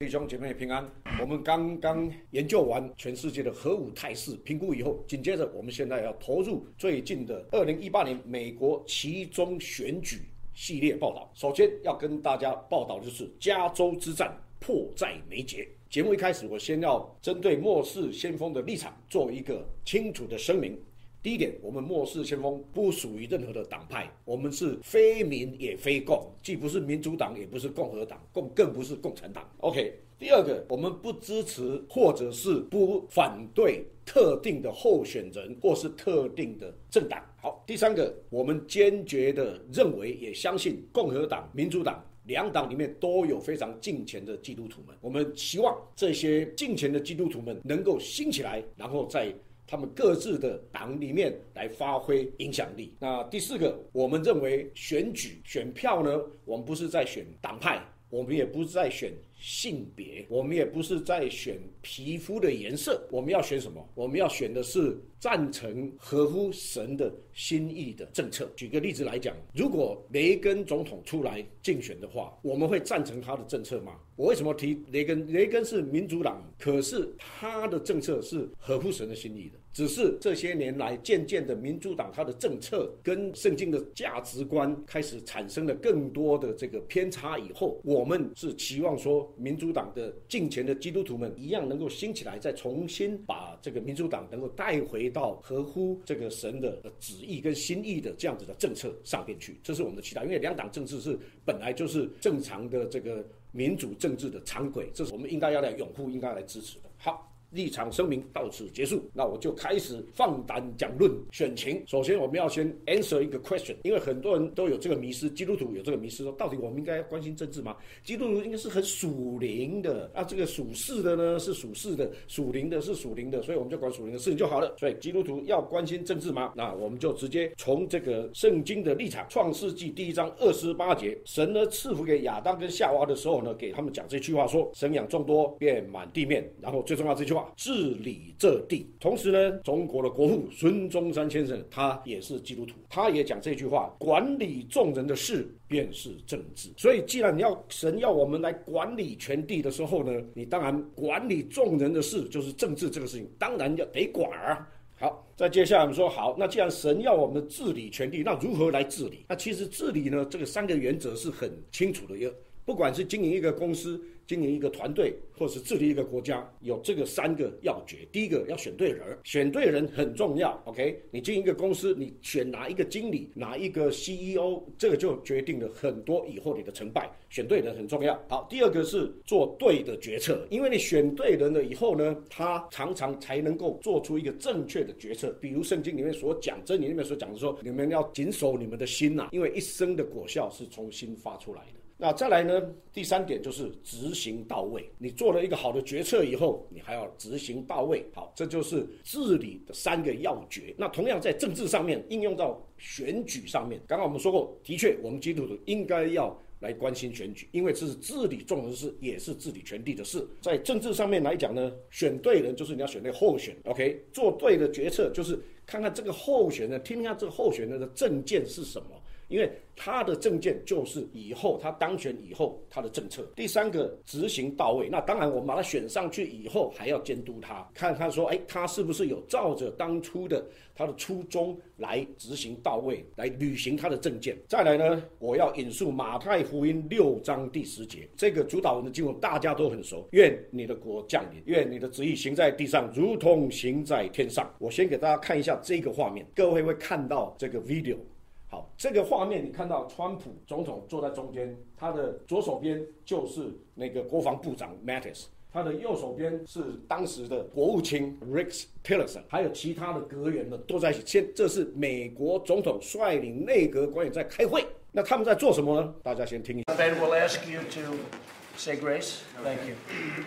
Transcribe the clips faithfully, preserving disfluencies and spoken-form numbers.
弟兄姐妹平安。我们刚刚研究完全世界的核武态势评估以后，紧接着我们现在要投入最近的二零一八年美国期中选举系列报道。首先要跟大家报道的就是加州之战迫在眉睫。节目一开始，我先要针对末世先锋的立场做一个清楚的声明。第一点，我们末世先锋不属于任何的党派，我们是非民也非共，既不是民主党，也不是共和党，共更不是共产党。OK。第二个，我们不支持或者是不反对特定的候选人或是特定的政党。好，第三个，我们坚决的认为也相信共和党、民主党两党里面都有非常敬虔的基督徒们，我们希望这些敬虔的基督徒们能够兴起来，然后在他们各自的党里面来发挥影响力。那第四个，我们认为选举选票呢，我们不是在选党派，我们也不是在选性别，我们也不是在选皮肤的颜色，我们要选什么？我们要选的是赞成合乎神的心意的政策。举个例子来讲，如果雷根总统出来竞选的话，我们会赞成他的政策吗？我为什么提雷根？雷根是民主党，可是他的政策是合乎神的心意的。只是这些年来，渐渐的民主党他的政策跟圣经的价值观开始产生了更多的这个偏差以后，我们是期望说民主党的敬虔的基督徒们一样能够兴起来，再重新把这个民主党能够带回到合乎这个神的旨意跟心意的这样子的政策上面去，这是我们的期待。因为两党政治是本来就是正常的这个民主政治的常轨，这是我们应该要来拥护，应该要来支持的。好，立场声明到此结束，那我就开始放胆讲论选情。首先我们要先 answer 一个 question， 因为很多人都有这个迷思，基督徒有这个迷思，说到底我们应该关心政治吗？基督徒应该是很属灵的啊，这个属世的呢是属世的，属灵的是属灵的，所以我们就管属灵的事情就好了。所以基督徒要关心政治吗？那我们就直接从这个圣经的立场，创世纪第一章二十八节，神呢赐福给亚当跟夏娃的时候呢，给他们讲这句话说：生养众多，遍满地面。然后最重要这句话，治理这地。同时呢，中国的国父孙中山先生他也是基督徒，他也讲这句话：管理众人的事便是政治。所以既然你要神要我们来管理全地的时候呢，你当然管理众人的事就是政治这个事情，当然要得管啊。好，再接下来我们说，好，那既然神要我们治理全地，那如何来治理？那其实治理呢，这个三个原则是很清楚的，不管是经营一个公司、经营一个团队，或是治理一个国家，有这个三个要诀。第一个要选对人，选对人很重要。OK， 你经营一个公司，你选哪一个经理、哪一个 C E O， 这个就决定了很多以后你的成败。选对人很重要。好，第二个是做对的决策，因为你选对人了以后呢，他常常才能够做出一个正确的决策。比如圣经里面所讲，真理里面所讲的说，你们要谨守你们的心呐、啊，因为一生的果效是从心发出来的。那再来呢，第三点就是执行到位。你做了一个好的决策以后，你还要执行到位。好，这就是治理的三个要诀。那同样在政治上面应用到选举上面，刚刚我们说过，的确我们基督徒应该要来关心选举，因为这是治理众人的事，也是治理全地的事。在政治上面来讲呢，选对人就是你要选对候选 OK， 做对的决策就是看看这个候选人，听听这个候选人的政见是什么，因为他的政见就是以后他当选以后他的政策。第三个，执行到位。那当然我们把他选上去以后还要监督他，看他说哎，他是不是有照着当初的他的初衷来执行到位，来履行他的政见。再来呢，我要引述马太福音六章第十节，这个主导文的经文大家都很熟，愿你的国降临，愿你的旨意行在地上如同行在天上。我先给大家看一下这个画面，各位会看到这个 video。好，这个画面你看到川普总统坐在中间，他的左手边就是那个国防部长 Mattis， 他的右手边是当时的国务卿 Rex Tillerson， 还有其他的阁员们都在一起。先，这是美国总统率领内阁官员在开会，那他们在做什么呢？大家先听一下。 Ben will ask you to say grace. Thank you.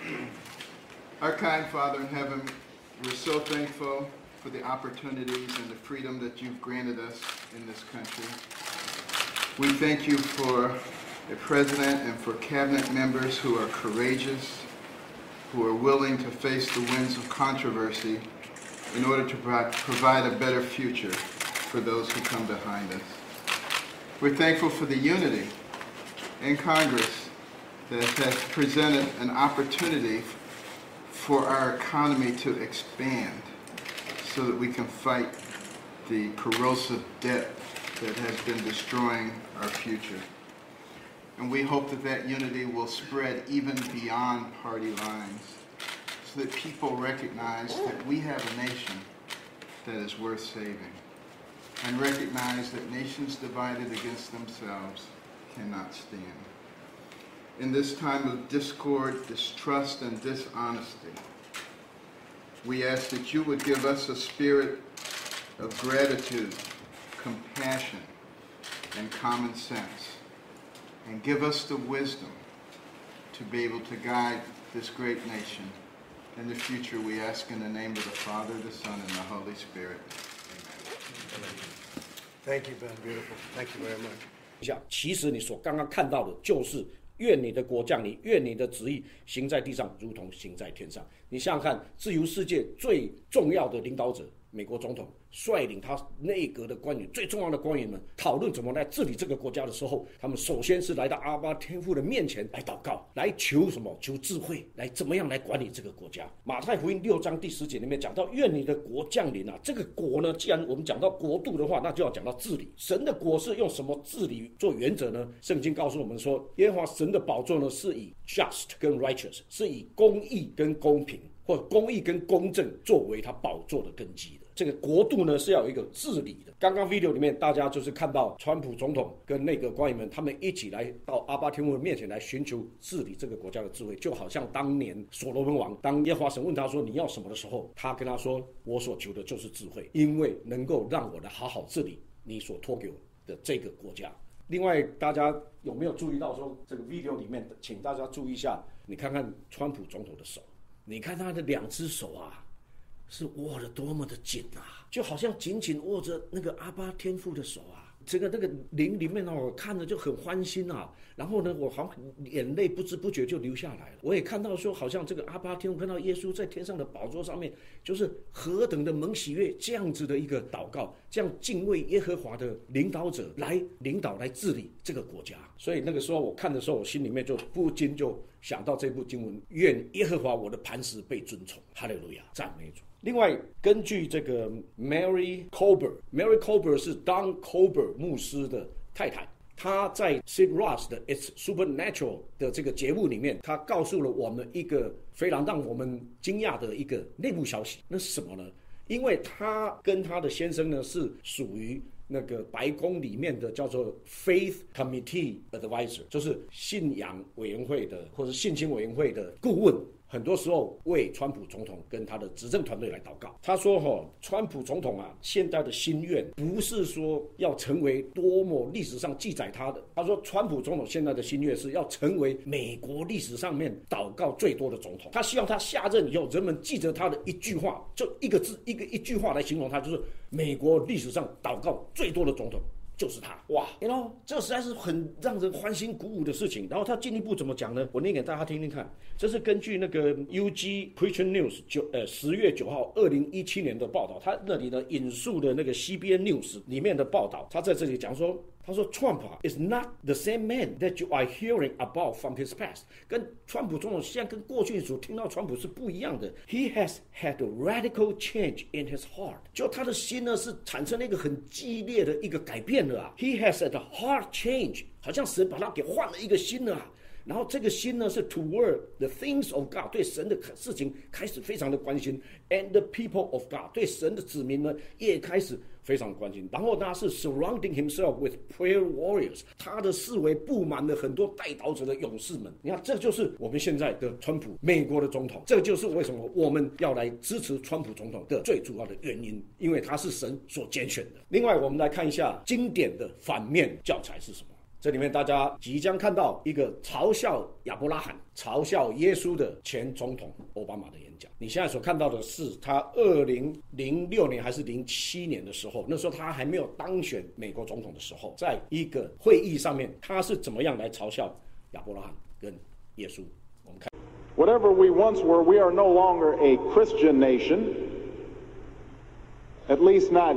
Our kind Father in heaven, we're so thankful for the opportunities and the freedom that you've granted us in this country. We thank you for a president and for cabinet members who are courageous, who are willing to face the winds of controversy in order to provide a better future for those who come behind us. We're thankful for the unity in Congress that has presented an opportunity for our economy to expand so that we can fight the corrosive debt that has been destroying our future. And we hope that that unity will spread even beyond party lines so that people recognize that we have a nation that is worth saving, and recognize that nations divided against themselves cannot stand. In this time of discord, distrust, and dishonesty, we ask that you would give us a spirit of gratitude, compassion, and common sense, and give us the wisdom to be able to guide this great nation. In the future, we ask in the name of the Father, the Son, and the Holy Spirit. Amen. Thank you, Ben. Beautiful. Thank you very much. 其实你所刚刚看到的就是愿你的国降临，愿你的旨意行在地上，如同行在天上。你想想看，自由世界最重要的领导者，美国总统率领他内阁的官员，最重要的官员们讨论怎么来治理这个国家的时候，他们首先是来到阿爸天父的面前来祷告，来求什么？求智慧，来怎么样来管理这个国家。马太福音六章第十节里面讲到，愿你的国降临啊！这个国呢，既然我们讲到国度的话，那就要讲到治理。神的国是用什么治理做原则呢？圣经告诉我们说，耶和华神的宝座呢是以 just 跟 righteous， 是以公义跟公平，或者公义跟公正作为他宝座的根基的。这个国度呢是要有一个治理的。刚刚 video 里面大家就是看到川普总统跟内阁官员们，他们一起来到阿爸天父的面前来寻求治理这个国家的智慧，就好像当年所罗门王，当耶和华神问他说你要什么的时候，他跟他说我所求的就是智慧，因为能够让我来好好治理你所托给我的这个国家。另外大家有没有注意到说这个 video 里面，请大家注意一下，你看看川普总统的手，你看他的两只手啊是握得多么的紧啊，就好像紧紧握着那个阿爸天父的手啊，这个那个灵里面我看着就很欢欣啊，然后呢我好像眼泪不知不觉就流下来了。我也看到说好像这个阿爸天父看到耶稣在天上的宝座上面，就是何等的蒙喜悦，这样子的一个祷告，这样敬畏耶和华的领导者来领导来治理这个国家。所以那个时候我看的时候，我心里面就不禁就想到这部经文，愿耶和华我的磐石被尊崇，哈利路亚，赞美主。另外，根据这个 Mary Colbert，Mary Colbert 是 Don Colbert 牧师的太太，她在 Sid Roth 的 It's Supernatural 的这个节目里面，她告诉了我们一个非常让我们惊讶的一个内部消息。那是什么呢？因为她跟她的先生呢是属于那个白宫里面的叫做 Faith Committee Advisor， 就是信仰委员会的或者信心委员会的顾问。很多时候为川普总统跟他的执政团队来祷告。他说、哦、川普总统啊，现在的心愿不是说要成为多么历史上记载他的，他说川普总统现在的心愿是要成为美国历史上面祷告最多的总统。他希望他下任以后，人们记着他的一句话，就一个字一个一句话来形容他，就是美国历史上祷告最多的总统就是他。哇 you know 这实在是很让人欢欣鼓舞的事情。然后他进一步怎么讲呢？我念给大家听听看。这是根据那个 U G Christian News 九呃十月九号二零一七年的报道，他那里呢引述的那个 C B N News 里面的报道，他在这里讲说，他说 Trump is not the same man that you are hearing about from his past， 跟川普总统现在跟过去所听到川普是不一样的。He has had a radical change in his heart， 就他的心呢是产生了一个很激烈的一个改变了啊。He has had a heart change， 好像神把他给换了一个心了啊。然后这个心呢是 toward the things of God， 对神的事情开始非常的关心 ，and the people of God， 对神的子民呢也开始非常关心。然后他是 surrounding himself with prayer warriors， 他的四围布满了很多代祷者的勇士们。你看，这就是我们现在的川普，美国的总统。这就是为什么我们要来支持川普总统的最主要的原因，因为他是神所拣选的。另外，我们来看一下经典的反面教材是什么。这里面大家即将看到一个嘲笑亚伯拉罕、嘲笑耶稣的前总统奥巴马的演讲。你现在所看到的是他二零零六年还是零七年的时候，那时候他还没有当选美国总统的时候，在一个会议上面，他是怎么样来嘲笑亚伯拉罕跟耶稣。我们看 Whatever we once were, we are no longer a Christian nation, at least not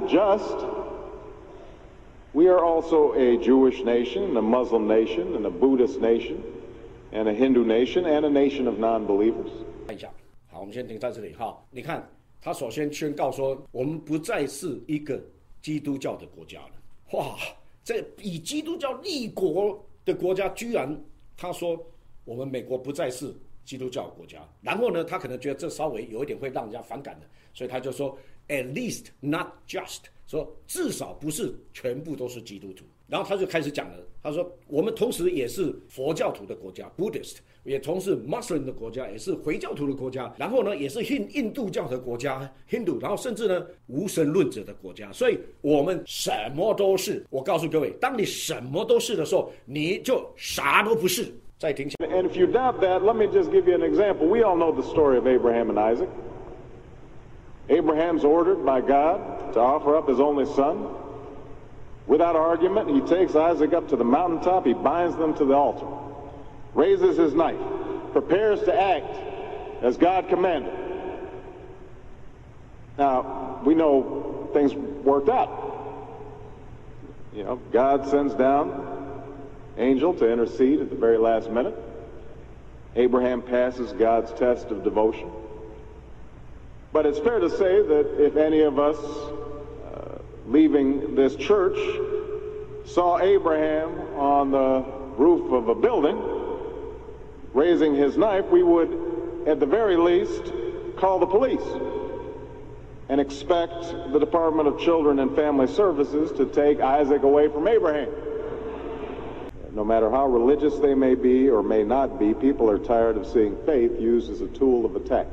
just.We are also a Jewish nation, and a Muslim nation, and a Buddhist nation, and a Hindu nation and a nation of non-believers. 看一下，好，我们先停在这里哈。你看，他首先宣告说，我们不再是一个基督教的国家了。哇，这以基督教立国的国家，居然他说我们美国不再是基督教国家。然后呢，他可能觉得这稍微有一点会让人家反感的，所以他就说 at least not just， 说至少不是全部都是基督徒。然后他就开始讲了，他说我们同时也是佛教徒的国家 Buddhist， 也同时 Muslim 的国家，也是回教徒的国家，然后呢也是印印度教的国家 Hindu， 然后甚至呢无神论者的国家，所以我们什么都是。我告诉各位，当你什么都是的时候，你就啥都不是。再听下。 And if you doubt that, let me just give you an example. We all know the story of Abraham and Isaac. Abraham's ordered by God to offer up his only son. Without argument, he takes Isaac up to the mountaintop, he binds them to the altar, raises his knife, prepares to act as God commanded. Now, we know things worked out. You know, God sends down angel to intercede at the very last minute. Abraham passes God's test of devotion. But it's fair to say that if any of us leaving this church saw Abraham on the roof of a building raising his knife, we would at the very least call the police and expect the Department of Children and Family Services to take Isaac away from Abraham. No matter how religious they may be or may not be, people are tired of seeing faith used as a tool of attack.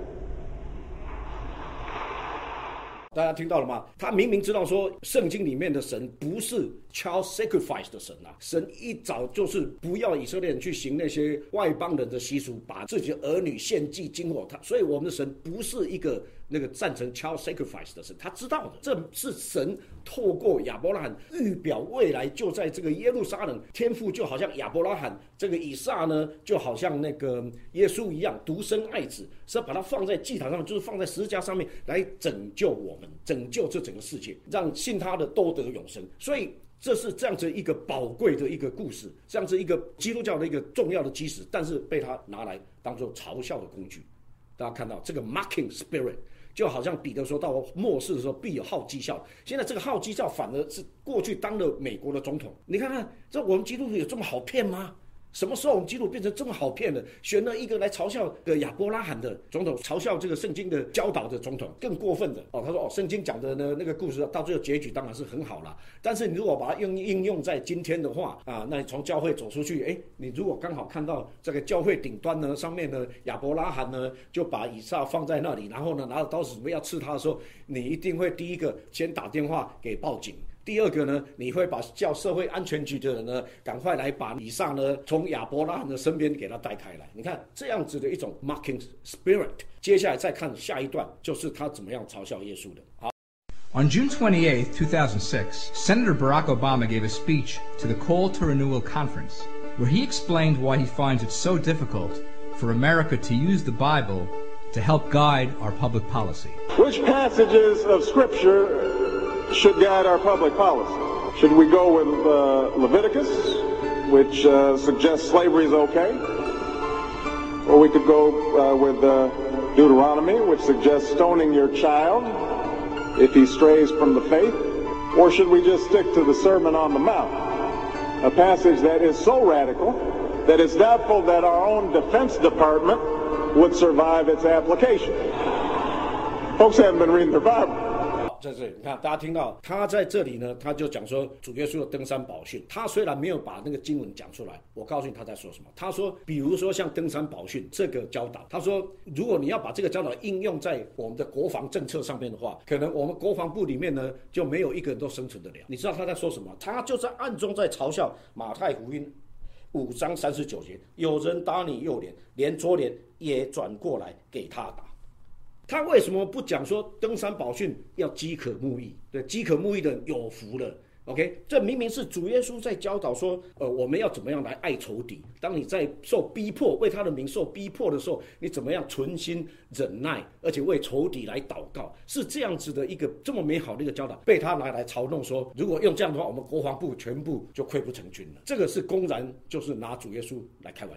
大家听到了吗？他明明知道说圣经里面的神不是 child sacrifice 的神啊，神一早就是不要以色列人去行那些外邦人的习俗，把自己的儿女献祭金火。他所以我们的神不是一个那个赞成 child sacrifice 的神，他知道的，这是神透过亚伯拉罕预表未来就在这个耶路撒冷，天父就好像亚伯拉罕，这个以撒呢就好像那个耶稣一样独生爱子，是要把它放在祭坛上，就是放在十字架上面来拯救我们，拯救这整个世界，让信他的都得永生。所以这是这样子一个宝贵的一个故事，这样子一个基督教的一个重要的基石，但是被他拿来当作嘲笑的工具。大家看到这个 mocking spirit， 就好像彼得说到末世的时候必有好讥笑，现在这个好讥笑反而是过去当了美国的总统。你看看，这我们基督徒有这么好骗吗？什么时候我们基督徒变成这么好骗了？选了一个来嘲笑的亚伯拉罕的总统，嘲笑这个圣经的教导的总统，更过分的哦。他说哦，圣经讲的呢那个故事到最后结局当然是很好啦，但是你如果把它用应用在今天的话啊，那你从教会走出去，哎，你如果刚好看到这个教会顶端呢上面呢亚伯拉罕呢就把以撒放在那里，然后呢拿着刀子准备要刺他的时候，你一定会第一个先打电话给报警。第二个呢，你会把叫社会安全局的人呢，赶快来把以撒呢从亚伯拉罕的身边给他带开来。你看这样子的一种 mocking spirit。接下来再看下一段，就是他怎么样嘲笑耶稣的。好。 On June twenty-eighth, two thousand six, Senator Barack Obama gave a speech to the Call to Renewal Conference, where he explained why he finds it so difficult for America to use the Bible to help guide our public policy. Which passages of Scripture should guide our public policy? Should we go with uh, Leviticus, which uh, suggests slavery is okay? Or we could go uh, with uh, Deuteronomy, which suggests stoning your child if he strays from the faith? Or should we just stick to the Sermon on the Mount, a passage that is so radical that it's doubtful that our own Defense Department would survive its application? Folks haven't been reading their Bible. 在这里，你看，大家听到他在这里呢，他就讲说主耶稣的登山宝训。他虽然没有把那个经文讲出来，我告诉你他在说什么。他说，比如说像登山宝训这个教导，他说，如果你要把这个教导应用在我们的国防政策上面的话，可能我们国防部里面呢就没有一个人都生存得了。你知道他在说什么？他就在暗中在嘲笑马太福音五章三十九节，有人打你右脸，连左脸也转过来给他打。他为什么不讲说登山宝训要饥渴慕义？对，饥渴慕义的人有福了。OK， 这明明是主耶稣在教导说，呃，我们要怎么样来爱仇敌。当你在受逼迫，为他的名受逼迫的时候，你怎么样存心忍耐，而且为仇敌来祷告，是这样子的一个这么美好的一个教导，被他拿来嘲弄说，如果用这样的话，我们国防部全部就溃不成军了。这个是公然就是拿主耶稣来开玩笑的。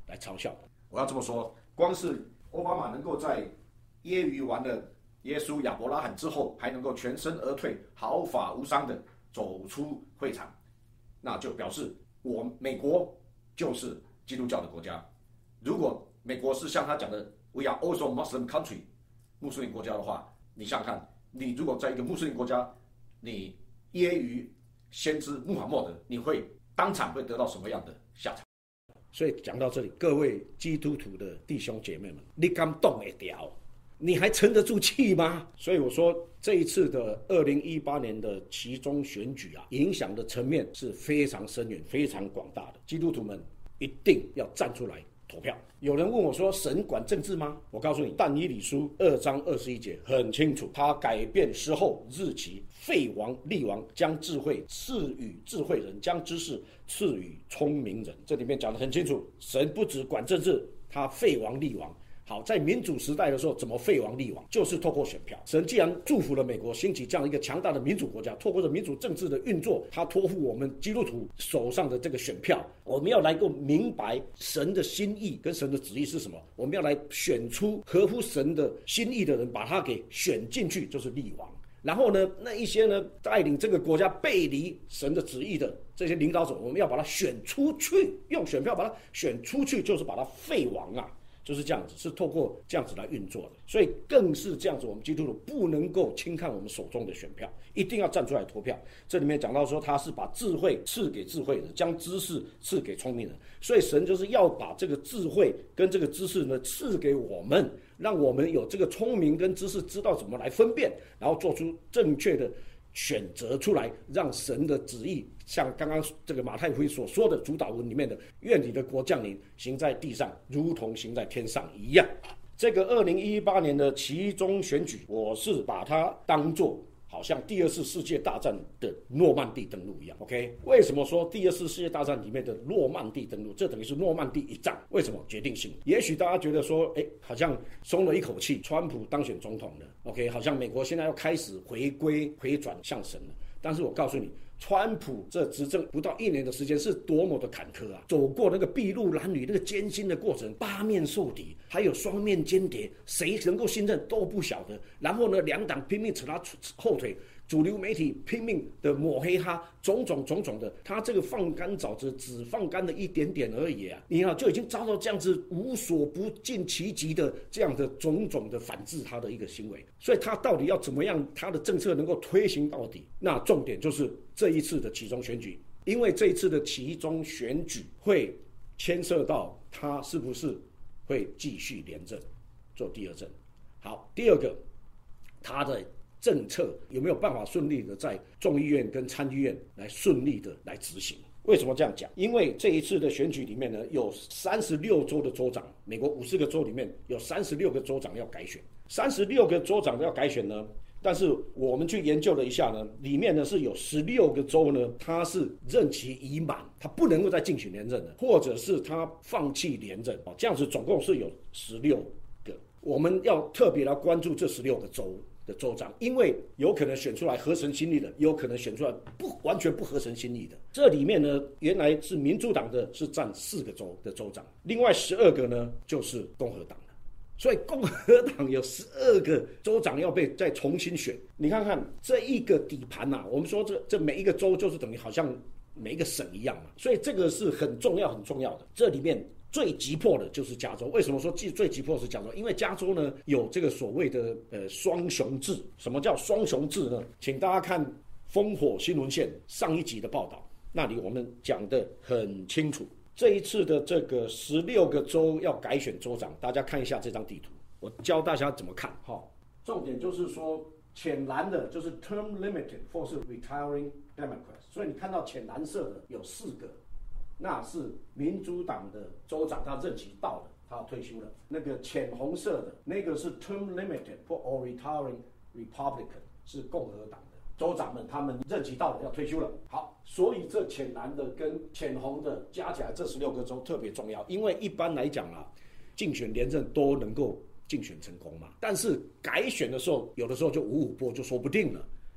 来嘲笑的。我要这么说，光是奥巴马能够在揶揄完了耶稣亚伯拉罕之后，还能够全身而退，毫发无伤的走出会场，那就表示我美国就是基督教的国家。如果美国是像他讲的 "We are also Muslim country" 穆斯林国家的话，你想想看，你如果在一个穆斯林国家，你揶揄先知穆罕默德，你会当场会得到什么样的下场？所以讲到这里，各位基督徒的弟兄姐妹们，你敢动得掉？你还沉得住气吗？所以我说，这一次的二零一八年的期中选举啊，影响的层面是非常深远、非常广大的。基督徒们一定要站出来投票。有人问我说：“神管政治吗？”我告诉你，但以理书二章二十一节很清楚，他改变时候日期，废王立王，将智慧赐予智慧人，将知识赐予聪明人。这里面讲得很清楚，神不只管政治，他废王立王。好，在民主时代的时候，怎么废王立王？就是透过选票。神既然祝福了美国兴起这样一个强大的民主国家，透过这民主政治的运作，他托付我们基督徒手上的这个选票，我们要来够明白神的心意跟神的旨意是什么。我们要来选出合乎神的心意的人，把他给选进去，就是立王。然后呢，那一些呢带领这个国家背离神的旨意的这些领导者，我们要把他选出去，用选票把他选出去，就是把他废王啊。就是这样子，是透过这样子来运作的，所以更是这样子，我们基督徒不能够轻看我们手中的选票，一定要站出来投票。这里面讲到说，他是把智慧赐给智慧人，将知识赐给聪明人，所以神就是要把这个智慧跟这个知识呢赐给我们，让我们有这个聪明跟知识，知道怎么来分辨，然后做出正确的选择出来，让神的旨意像刚刚这个马太福音所说的主导文里面的"愿你的国降临，行在地上，如同行在天上"一样。这个二零一八年的期中选举，我是把它当作好像第二次世界大战的诺曼底登陆一样 ，OK？ 为什么说第二次世界大战里面的诺曼底登陆？这等于是诺曼底一战，为什么决定性？也许大家觉得说，哎，好像松了一口气，川普当选总统了 ，OK？ 好像美国现在要开始回归回转向神了。但是我告诉你，川普这执政不到一年的时间是多么的坎坷啊！走过那个筚路蓝缕那个艰辛的过程，八面受敌，还有双面间谍，谁能够信任都不晓得。然后呢，两党拼命扯他后腿，主流媒体拼命的抹黑他，种种种种的，他这个放干枣子只放干了一点点而已啊！你看就已经遭到这样子无所不尽其极的这样的种种的反制他的一个行为，所以他到底要怎么样，他的政策能够推行到底？那重点就是这一次的期中选举，因为这一次的期中选举会牵涉到他是不是会继续连任做第二任。好，第二个，他的政策有没有办法顺利的在众议院跟参议院来顺利的来执行？为什么这样讲？因为这一次的选举里面呢，有三十六州的州长，美国五十个州里面有三十六个州长要改选，三十六个州长要改选呢。但是我们去研究了一下呢，里面呢是有十六个州呢，它是任期已满，它不能够再竞选连任了，或者是他放弃连任，这样子总共是有十六个。我们要特别来关注这十六个州的州长，因为有可能选出来合神心意的，也有可能选出来不完全不合神心意的。这里面呢，原来是民主党的是占四个州的州长，另外十二个呢就是共和党的，所以共和党有十二个州长要被再重新选。你看看这一个底盘啊，我们说这这每一个州就是等于好像每一个省一样嘛，所以这个是很重要很重要的。这里面最急迫的就是加州。为什么说最急迫的是加州？因为加州呢有这个所谓的呃双雄制。什么叫双雄制呢？请大家看烽火新闻线上一集的报道，那里我们讲得很清楚。这一次的这个十六个州要改选州长，大家看一下这张地图，我教大家怎么看哈。重点就是说，浅蓝的就是 term limited 或是 retiring Democrats， 所以你看到浅蓝色的有四个，那是民主党的州长，他任期到了，他要退休了。那个浅红色的那个是 term limited or retiring Republican， 是共和党的州长们，他们任期到了要退休了。好，所以这浅蓝的跟浅红的加起来这十六个州特别重要，因为一般来讲啊，竞选连任都能够竞选成功嘛，但是改选的时候，有的时候就五五波就说不定了。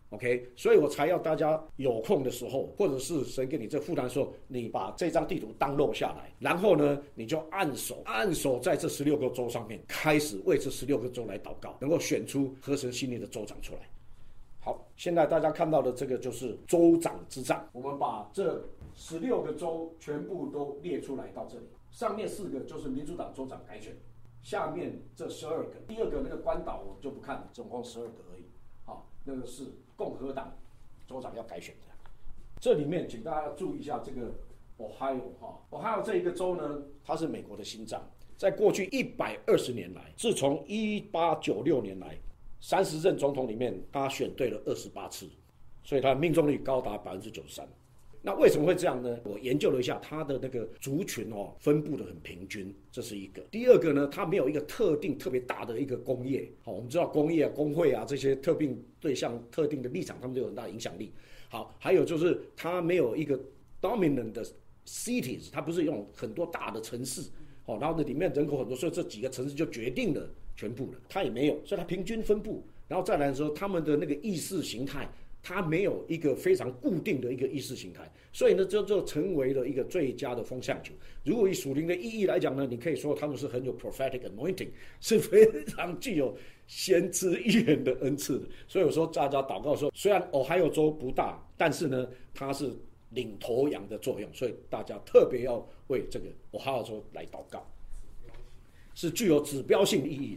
OK， 所以我才要大家有空的时候，或者是神给你这负担的时候，你把这张地图download下来，然后呢，你就按手按手在这十六个州上面，开始为这十六个州来祷告，能够选出合神心意的州长出来。好，现在大家看到的这个就是州长之战，我们把这十六个州全部都列出来到这里，上面四个就是民主党州长改选，下面这十二个，第二个那个关岛我就不看了，总共十二个而已。好，那个是共和党州长要改选的。这里面请大家注意一下这个 Ohio 哈 ，Ohio 这一个州呢，它是美国的心脏，在过去一百二十年来，自从一八九六年来，三十任总统里面，他选对了二十八次，所以他的命中率高达百分之九十三。那为什么会这样呢？我研究了一下，它的那个族群哦分布的很平均，这是一个。第二个呢，它没有一个特定特别大的一个工业。好，我们知道工业、工会啊这些特定对象、特定的立场，他们都有很大的影响力。好，还有就是它没有一个 dominant 的 cities， 它不是用很多大的城市。好，然后呢里面人口很多，所以这几个城市就决定了全部了。它也没有，所以它平均分布。然后再来的时候，他们的那个意识形态。它没有一个非常固定的一个意识形态，所以呢，这就成为了一个最佳的风向球。如果以属灵的意义来讲呢，你可以说他们是很有 prophetic anointing， 是非常具有先知预言的恩赐的。所以我说大家祷告说，虽然 Ohio 州不大，但是呢，它是领头羊的作用，所以大家特别要为这个 Ohio 州来祷告，是具有指标性意义的。